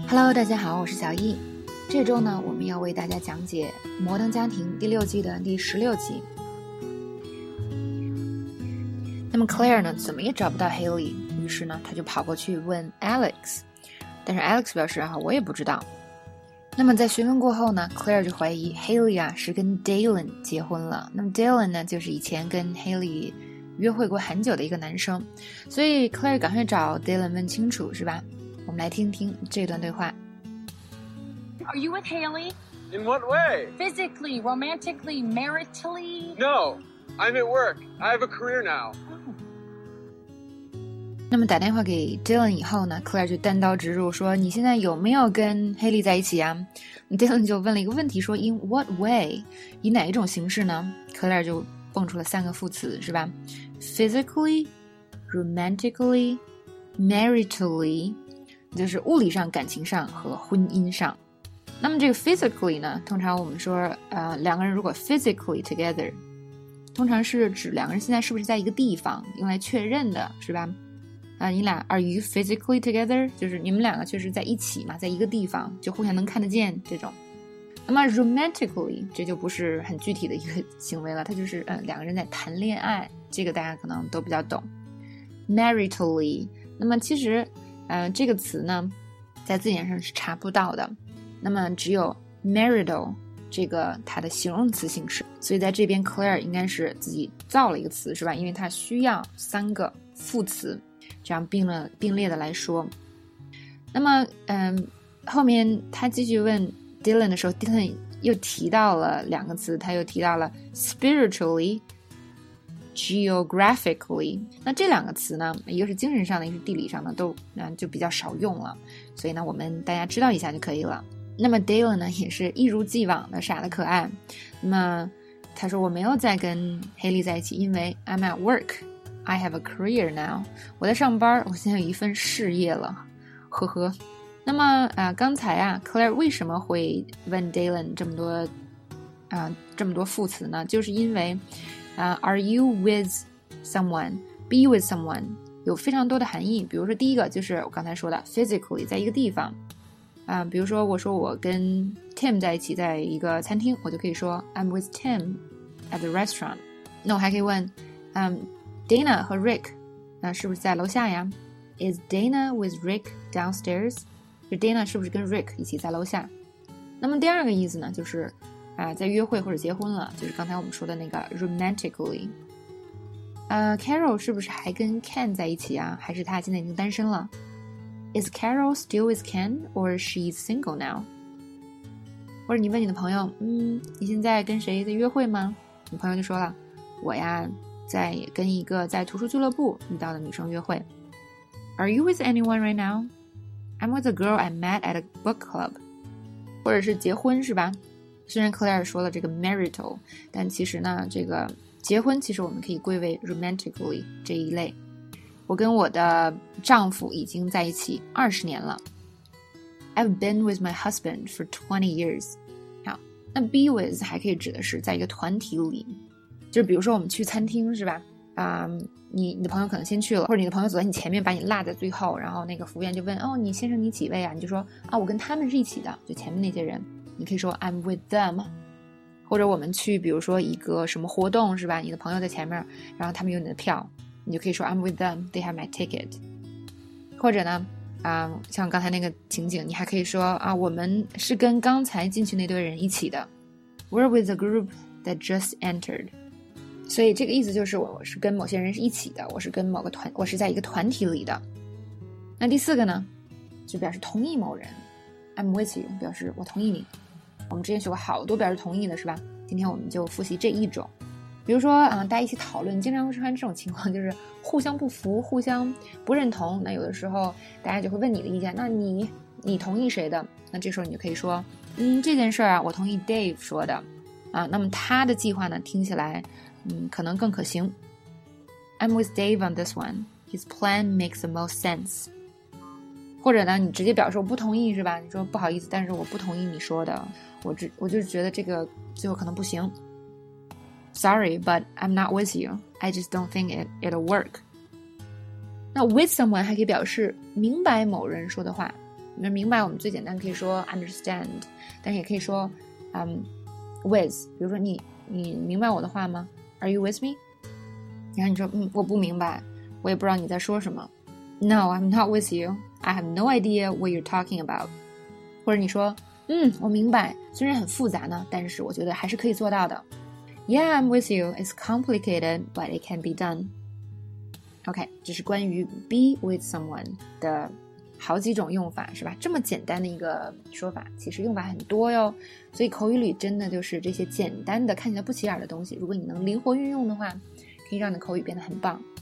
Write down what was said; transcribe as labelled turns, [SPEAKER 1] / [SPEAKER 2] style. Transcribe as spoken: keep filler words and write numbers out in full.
[SPEAKER 1] Hello， 大家好，我是小易。这周呢，我们要为大家讲解《摩登家庭》第六季的第十六集。那么 Claire 呢，怎么也找不到 Haley， 于是呢，他就跑过去问 Alex， 但是 Alex 表示啊，我也不知道。那么在询问过后呢 ，Claire 就怀疑 Haley 啊是跟 Dylan 结婚了。那么 Dylan 呢，就是以前跟 Haley 约会过很久的一个男生，所以 Claire 赶快找 Dylan 问清楚，是吧？我们来听听这段对话。
[SPEAKER 2] Are you with Haley?
[SPEAKER 3] In what way?
[SPEAKER 2] Physically, romantically, maritally?
[SPEAKER 3] No, I'm at work. I have a career now.
[SPEAKER 1] 那么打电话给 Dylan 以后呢 Claire 就单刀直入说，你现在有没有跟 Haley 在一起啊？ Dylan 就问了一个问题说 In what way? 以哪一种形式呢？ Claire 就蹦出了三个副词，是吧？ Physically, romantically, maritally， 就是物理上、感情上和婚姻上。那么这个 physically 呢，通常我们说呃，两个人如果 physically together， 通常是指两个人现在是不是在一个地方，用来确认的，是吧？啊，你俩 are you physically together， 就是你们两个确实在一起嘛，在一个地方，就互相能看得见这种。那么 romantically 这就不是很具体的一个行为了，它就是呃两个人在谈恋爱，这个大家可能都比较懂。maritally， 那么其实呃这个词呢，在字典上是查不到的。那么只有 marital 这个它的形容词形式，所以在这边 Claire 应该是自己造了一个词，是吧？因为它需要三个副词，这样并了并列的来说。那么嗯，后面他继续问 Dylan 的时候 Dylan 又提到了两个词，他又提到了 spiritually geographically， 那这两个词呢，一个是精神上的，一个是地理上的，都、呃、就比较少用了，所以呢我们大家知道一下就可以了。那么 Dylan 呢也是一如既往的傻的可爱，那么他说我没有再跟 Haley 在一起，因为 I'm at work, I have a career now， 我在上班，我现在有一份事业了，呵呵。那么啊，刚才啊 Claire 为什么会问 Dylan 这么多啊这么多副词呢？就是因为啊、uh, Are you with someone, be with someone 有非常多的含义，比如说第一个就是我刚才说的 physically 在一个地方啊、uh, 比如说我说我跟 Tim 在一起在一个餐厅，我就可以说 I'm with Tim at the restaurant。 那我还可以问嗯、um, Dana 和 Rick 那是不是在楼下呀？ Is Dana with Rick downstairs？ 就 Dana 是不是跟 Rick 一起在楼下？那么第二个意思呢，就是啊，在约会或者结婚了，就是刚才我们说的那个 romantically。呃 Carol 是不是还跟 Ken 在一起啊？还是他现在已经单身了？ Is Carol still with Ken or she's single now？ 或者你问你的朋友，嗯，你现在跟谁在约会吗？你朋友就说了，我呀，在跟一个在图书俱乐部遇到的女生约会。Are you with anyone right now? I'm with a girl I met at a book club。 或者是结婚，是吧？虽然 Claire 说了这个 marital， 但其实呢，这个结婚其实我们可以归为 romantically 这一类。我跟我的丈夫已经在一起二十年了。I've been with my husband for twenty years。 好，那 be with 还可以指的是在一个团体里，就是比如说我们去餐厅，是吧？啊、嗯，你你的朋友可能先去了，或者你的朋友走在你前面把你落在最后，然后那个服务员就问，哦，你先生你几位啊？你就说啊，我跟他们是一起的，就前面那些人。你可以说 I'm with them。 或者我们去比如说一个什么活动，是吧？你的朋友在前面，然后他们有你的票，你就可以说 I'm with them, they have my ticket。 或者呢啊、呃，像刚才那个情景，你还可以说啊，我们是跟刚才进去那堆人一起的， We're with the group that just entered。 所以这个意思就是我我是跟某些人是一起的，我是跟某个团，我是在一个团体里的。那第四个呢，就表示同意某人， I'm with you 表示我同意你。我们之前学过好多表示同意的，是吧？今天我们就复习这一种。比如说啊、呃，大家一起讨论，经常会出现这种情况，就是互相不服，互相不认同。那有的时候大家就会问你的意见，那你你同意谁的？那这时候你就可以说，嗯，这件事啊，我同意 Dave 说的啊。那么他的计划呢，听起来嗯可能更可行。I'm with Dave on this one. His plan makes the most sense。或者呢，你直接表示我不同意，是吧？你说不好意思，但是我不同意你说的，我只我就是觉得这个最后可能不行。Sorry, but I'm not with you. I just don't think it it'll work. 那 with someone 还可以表示明白某人说的话， 那明白我们最简单可以说 understand， 但是也可以说嗯 with， 比如说你你明白我的话吗？ Are you with me？ 然后你说嗯我不明白，我也不知道你在说什么。 No, I'm not with you. I have no idea what you're talking about. 或者你说嗯我明白，虽然很复杂呢，但是我觉得还是可以做到的。 Yeah, I'm with you. It's complicated, but it can be done. OK， 这是关于 be with someone 的好几种用法，是吧？这么简单的一个说法，其实用法很多哟。所以口语里真的就是这些简单的看起来不起眼的东西，如果你能灵活运用的话，可以让你的口语变得很棒。